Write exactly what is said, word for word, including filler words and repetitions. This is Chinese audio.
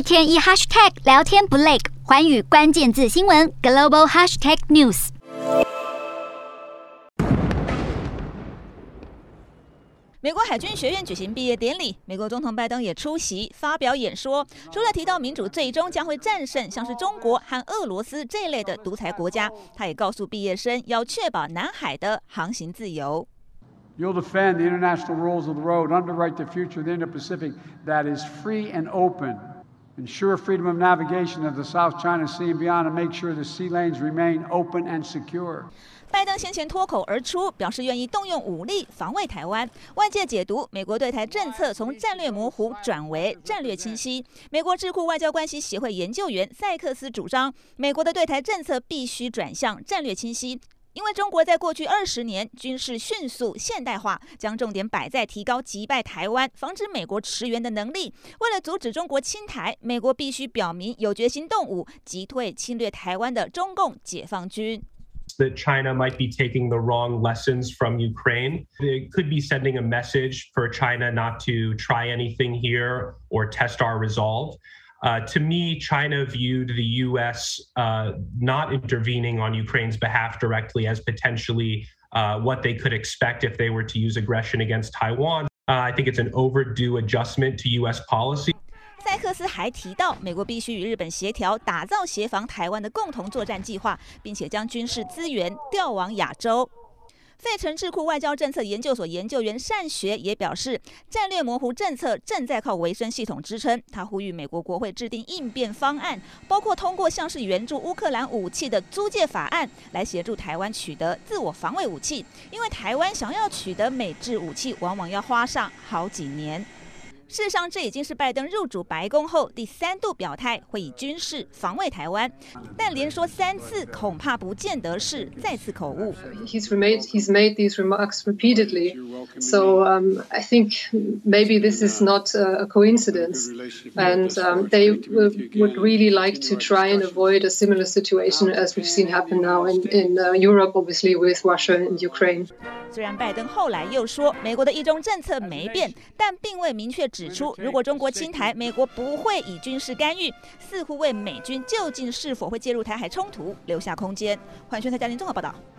天一 hashtag 聊天不累，寰宇關鍵字新聞 global hashtag news。 美國海軍學院舉行畢業典禮，美國總統拜登也出席發表演說。除了提到民主最終將會戰勝像是中國和俄羅斯這類的獨裁國家，他也告訴畢業生要確保南海的航行自由。 You'll defend the international rules of the road, underwrite the future of the Indo-Pacific that is free and open, ensure freedom of navigation of the South China Sea and beyond, and make sure the sea lanes remain open and secure. 拜登先前脫口而出，表示願意動用武力防衛台灣。外界解讀，美國對台政策從戰略模糊轉為戰略清晰。美國智庫外交關係協會研究員塞克斯主張，美國的對台政策必須轉向戰略清晰。因為中國在過去二十年軍事迅速現代化，將重點擺在提高擊敗台灣、防止美國馳援的能力。為了阻止中國侵台，美國必須表明有決心動武，擊退侵略台灣的中共解放軍。 That China might be taking the wrong lessons from Ukraine. It could be sending a message for China not to try anything here or test our resolve. Uh, to me, China viewed the U S uh, not intervening on Ukraine's behalf directly as potentially uh, what they could expect if they were to use aggression against Taiwan. Uh, I think it's an overdue adjustment to U S policy. 塞克斯還提到，美國必須與日本協調，打造協防台灣的共同作戰計劃，並且將軍事資源調往亞洲。費城智庫外交政策研究所研究員單學也表示，戰略模糊政策正在靠維生系統支撐。他呼籲美國國會制定應變方案，包括通過像是援助烏克蘭武器的租借法案，來協助台灣取得自我防衛武器。因為台灣想要取得美制武器，往往要花上好幾年。事實上，這已經是拜登入主白宮後第三度表態會以軍事防衛台灣，但連說三次恐怕不見得是再次口誤。 He's made he's made these remarks repeatedly, so um, I think maybe this is not a coincidence, and um, they would really like to try and avoid a similar situation as we've seen happen now in in uh, Europe, obviously with Russia and Ukraine. 雖然拜登後來又說美國的一中政策沒變，但並未明確指出，如果中國侵台，美國不會以軍事干預，似乎為美軍究竟是否會介入台海衝突留下空間。環球台家庭綜合報道。